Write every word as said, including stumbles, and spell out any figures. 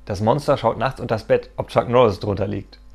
Das Monster schaut nachts unters Bett, ob Chuck Norris drunter liegt.